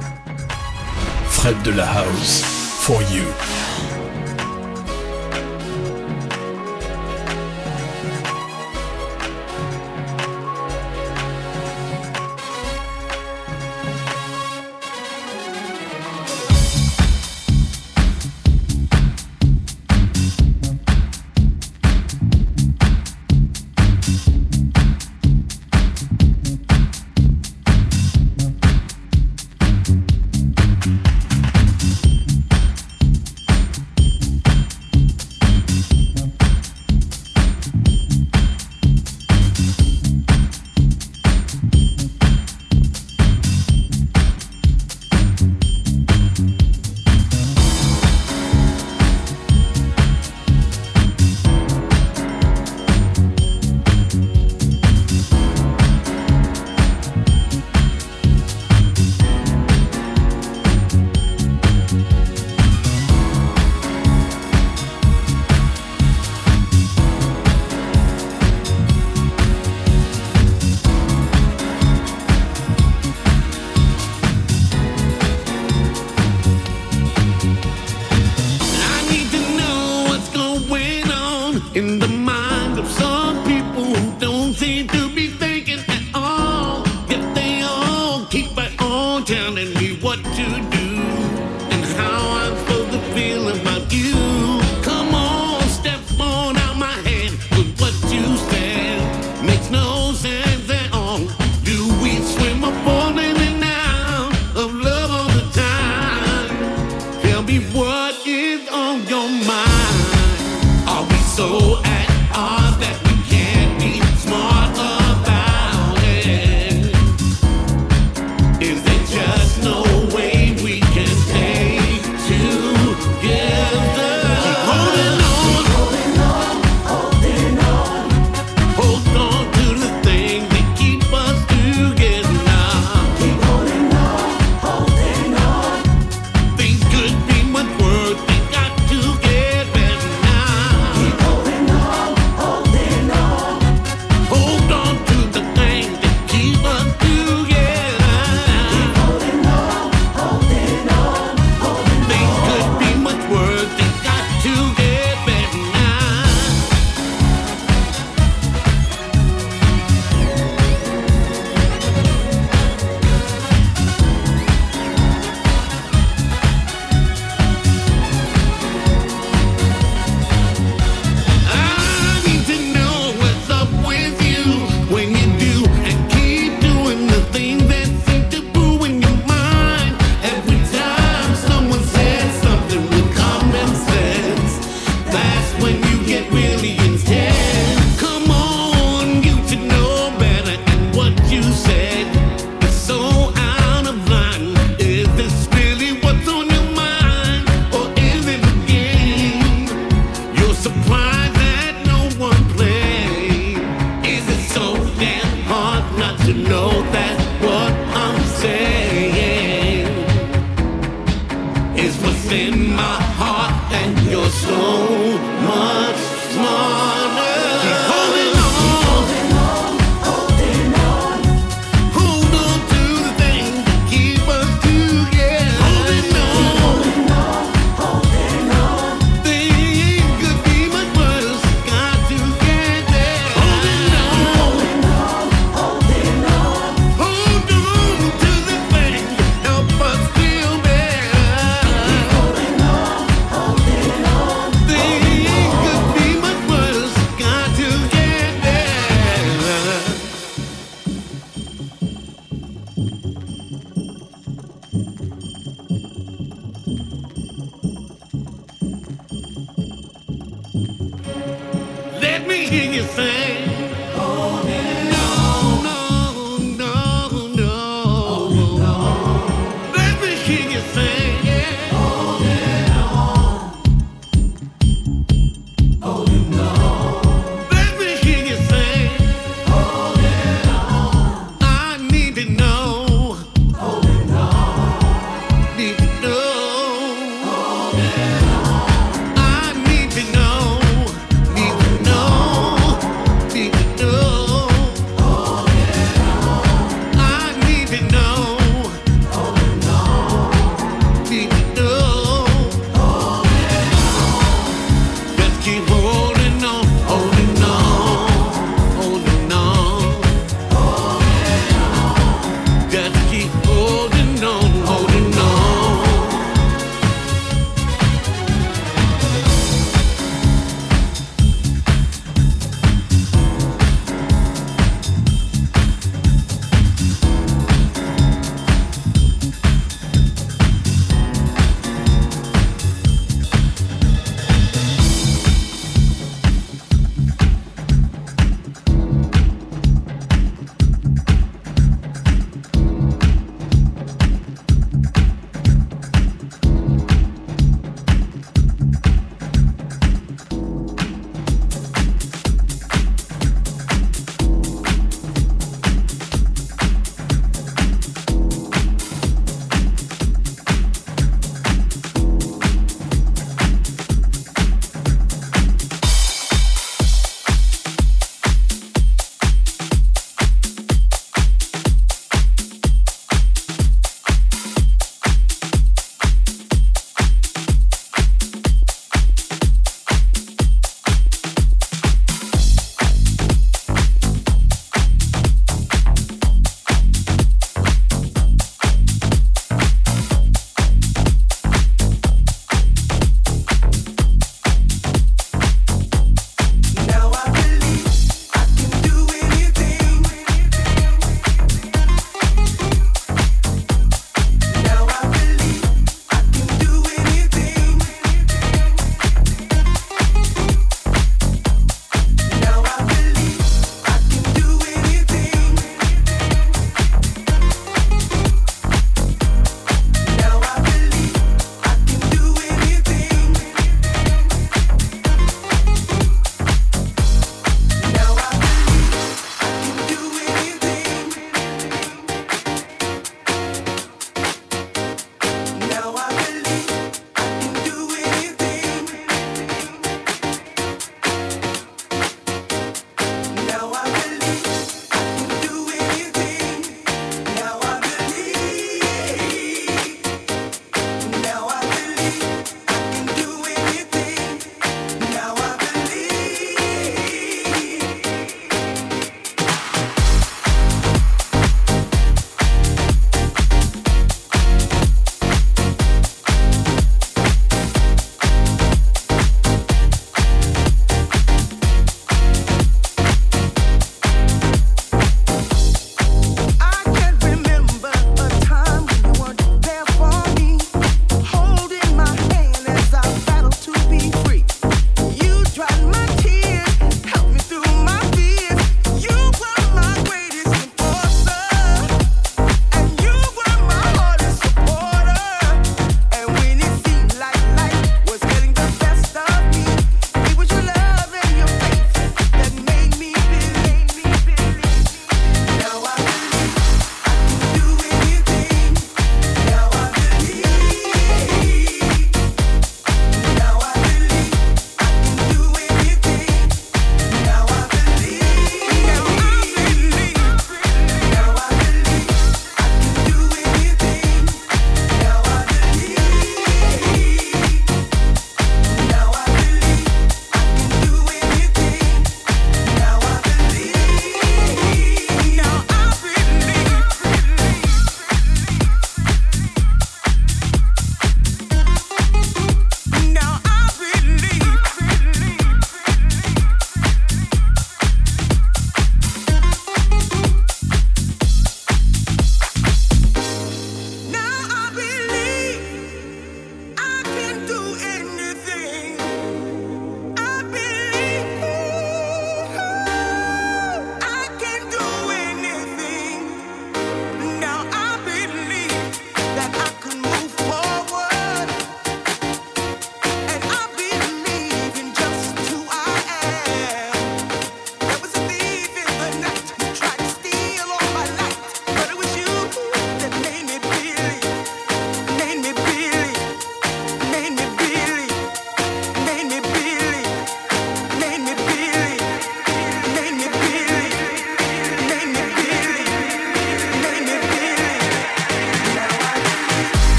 Fred de la House, for you.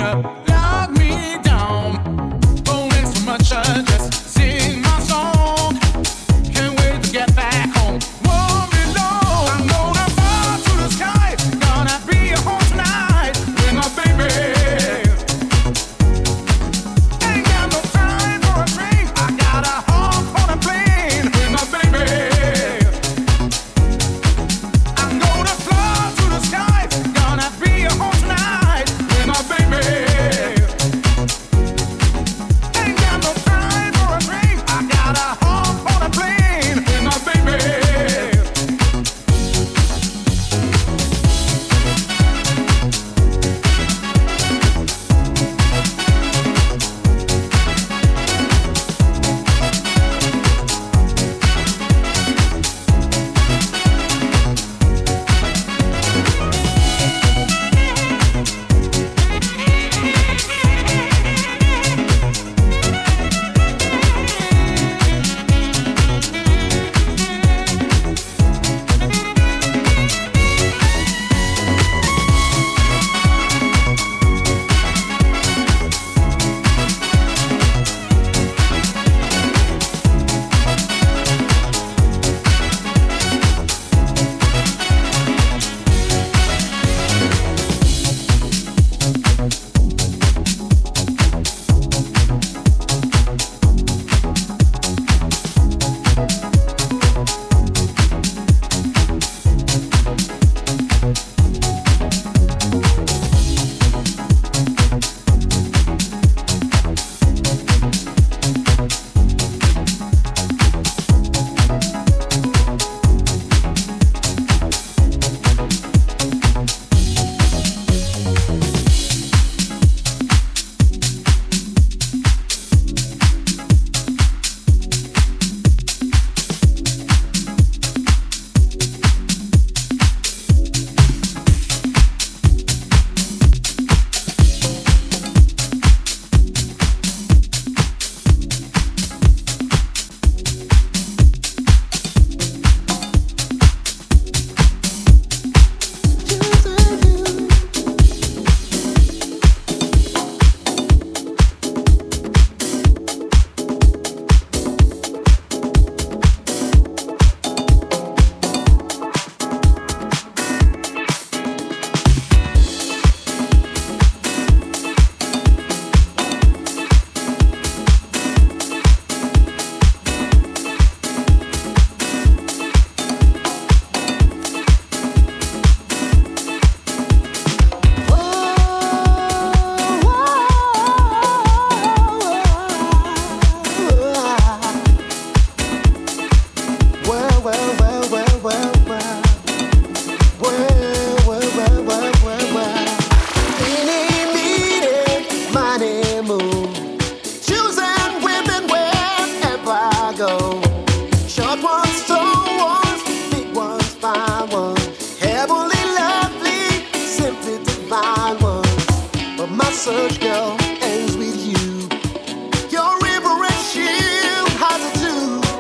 search, girl, ends with you. Your river and shield hard to do.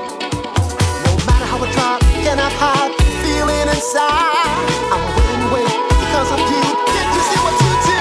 No matter how I try, cannot hide the feeling inside. I'm waiting, wait, because of you. Get to see what you do.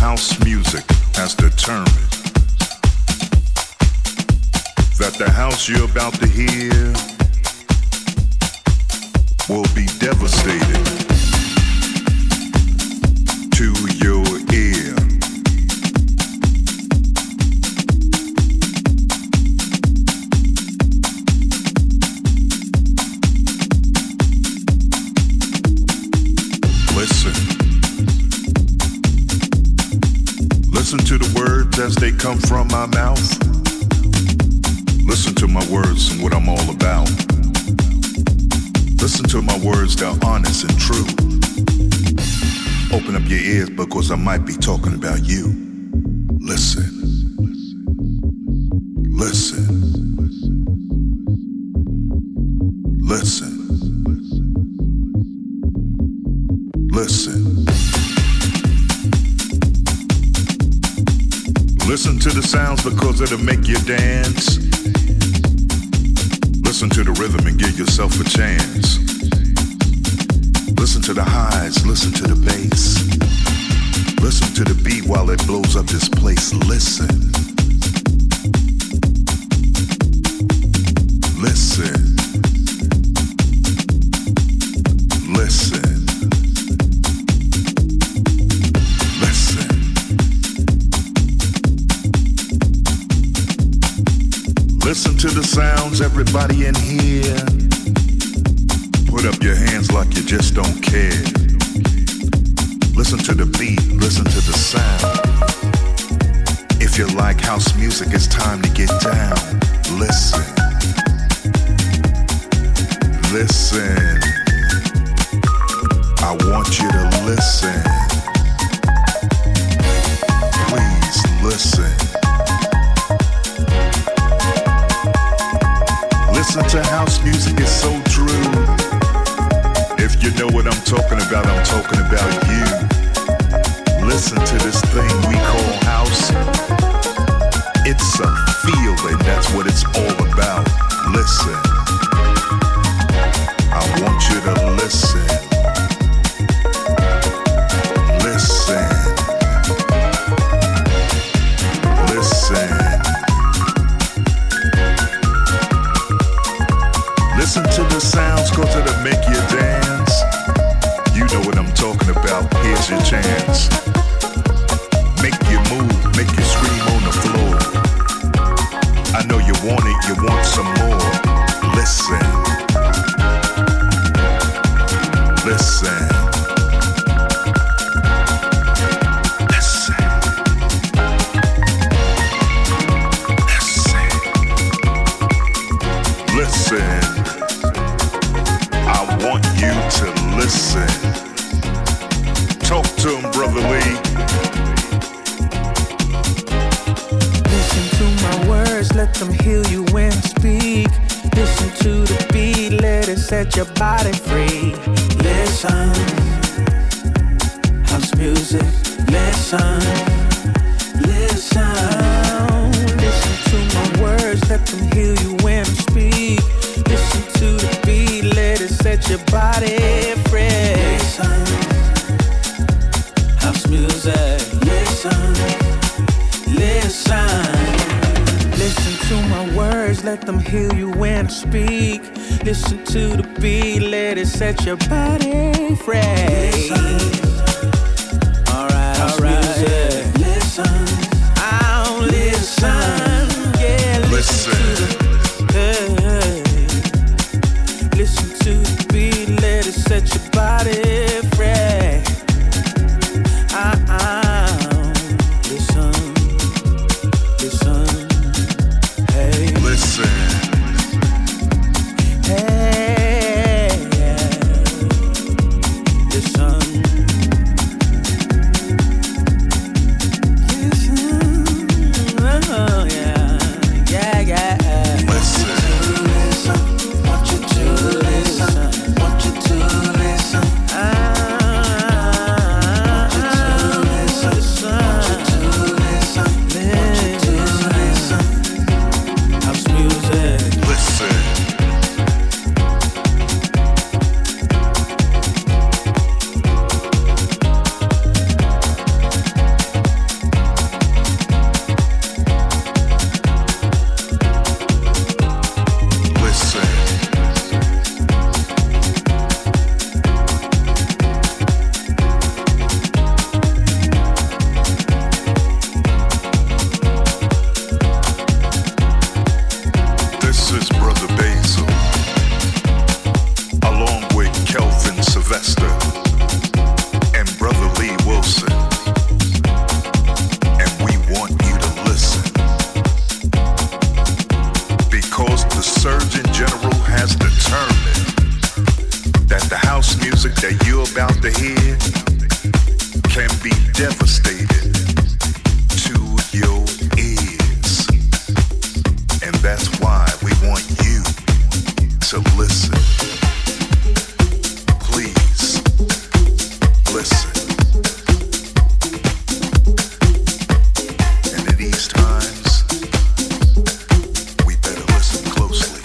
house music has determined that the house you're about to hear will be devastating to your ear. Listen to the words as they come from my mouth. Listen to my words and what I'm all about. Listen to my words, they're honest and true. Open up your ears because I might be talking about you. Listen. Listen. Listen. Listen. Listen to the sounds because it'll make you dance. Listen to the rhythm and give yourself a chance. Listen to the highs, listen to the bass. Listen to the beat while it blows up this place. Listen. Listen. Listen. Listen to the sounds, everybody in here. Put up your hands like you just don't care. Listen to the beat, listen to the sound. If you like house music, it's time to get down. Listen. Listen. I want you to listen. Please listen. Listen to house music, it's so true. If you know what I'm talking about you. Listen to this thing we call house. It's a feeling, that's what it's all about. Listen. I want you to listen. Listen. Listen. Listen to the sounds cause it'll make you dance. You know what I'm talking about, here's your chance. Make you move, make you scream on the floor. I know you want it, you want some more. Listen. Listen. Listen. Listen. I want you to listen. Talk to him, Brother Lee. Listen to my words, let them heal you when I speak. Listen to the beat, let it set your body free. Listen, house music, listen, listen. Listen to my words, let them heal you when I speak. Listen to the beat, let it set your body free. Listen, house music, listen, listen. Listen to my words, let them heal you when I speak. Listen to the beat, let it set your body free. Alright, alright. Listen, I'll listen. Yeah, listen. Listen to the beat, let it set your body free. Listen, listen, hey. Listen. Hey, listen. Listen, oh yeah, yeah, yeah. that you're about to hear can be devastating to your ears. And that's why we want you to listen. Please listen. And in these times, we better listen closely.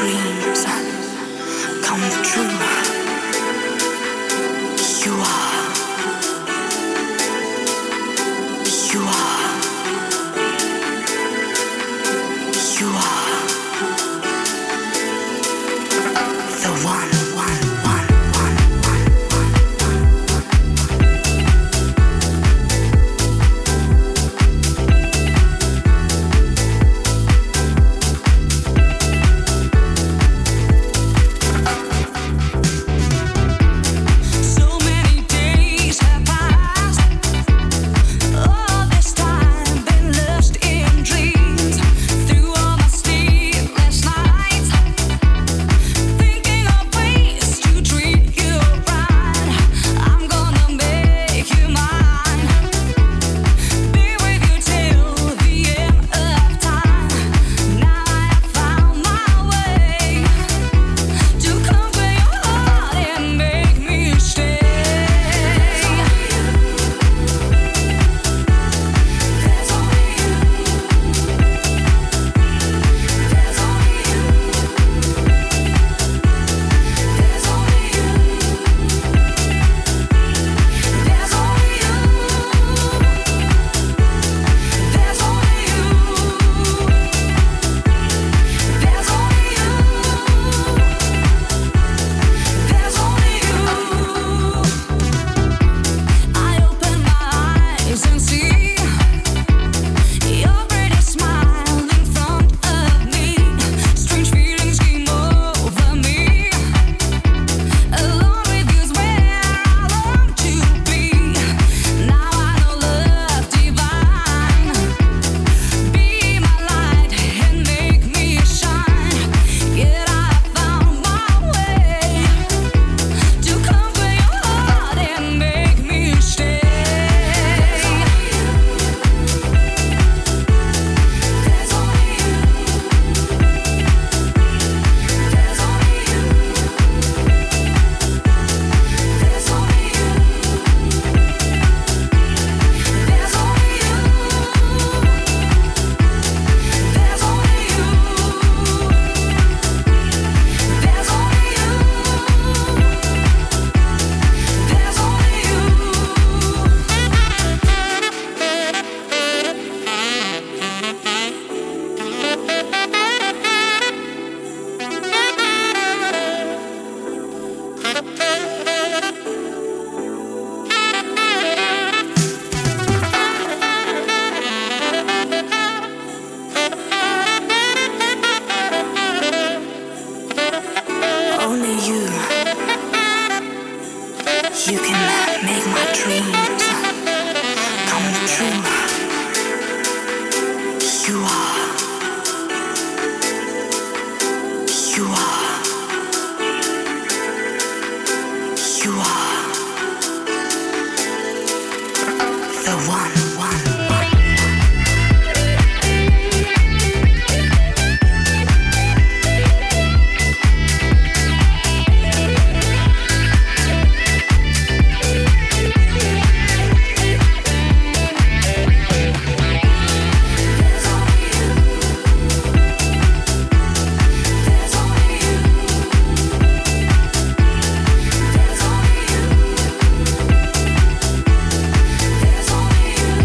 dreams come true. You are. You are. You are the one. There's only you.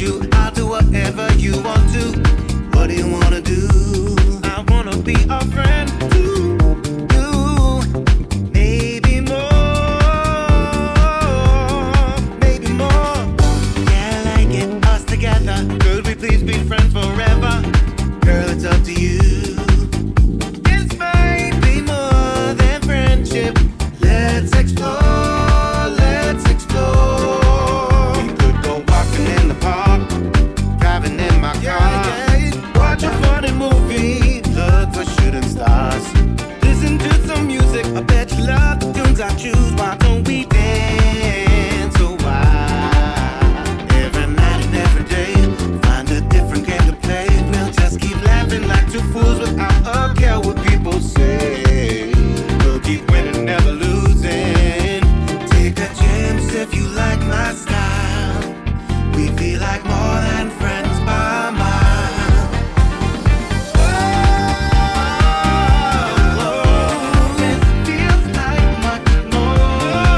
you, I'll do whatever you want to. What do you wanna do? I wanna be a friend to you, maybe more. Yeah, I like it, us together. Could we please be friends forever? Girl, it's up to you. This might be more than friendship. Let's explore, let's explore. We could go walking in the park, driving in my car, watch a funny movie, look for shooting stars, listen to some music. I bet you love the tunes I choose. Why don't we dance a while? Every night and every day, find a different game to play. We'll just keep laughing like two fools without a care what people say. We'll keep winning, never losing. Take a chance if you like my style. We feel like more than friends by a mile. Oh, it feels like much more.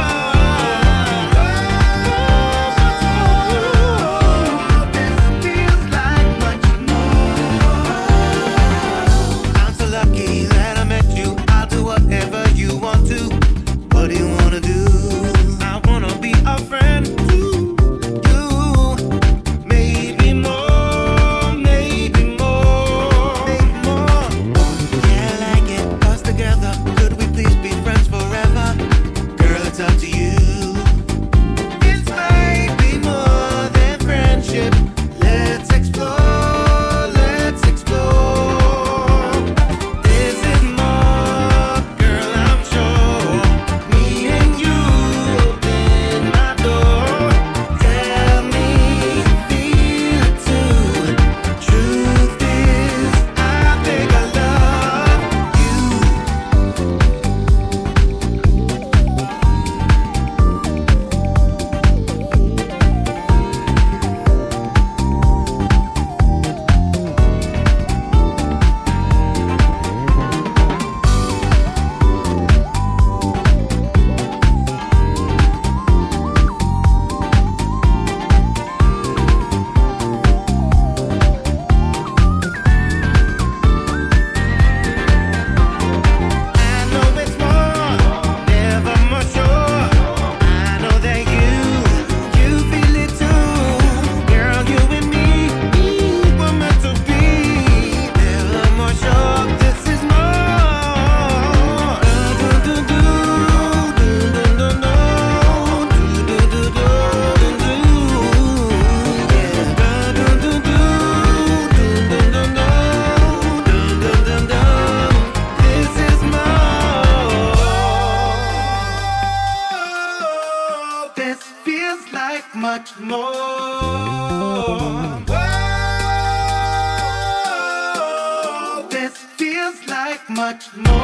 This feels like much more. I'm so lucky that I met you. I'll do whatever you want to. What do you wanna do? I wanna be a friend to you. Maybe more, maybe more, maybe more. Yeah, I like it, us together. Could we please be friends forever? Girl, it's up to you. This might be more than friendship. Let's explore, let's explore. This is more, girl, I'm sure. Me and you open my door. Tell me you feel it too. Truth is, I think I love you. I know it's more, never more sure. I know that you feel it too. Girl, you and me, we're meant to be. Never more sure, this is more. Do do do do do do do do do do do. Yeah, do do do do do do do do. This is more. This feels like much more. This feels like much more.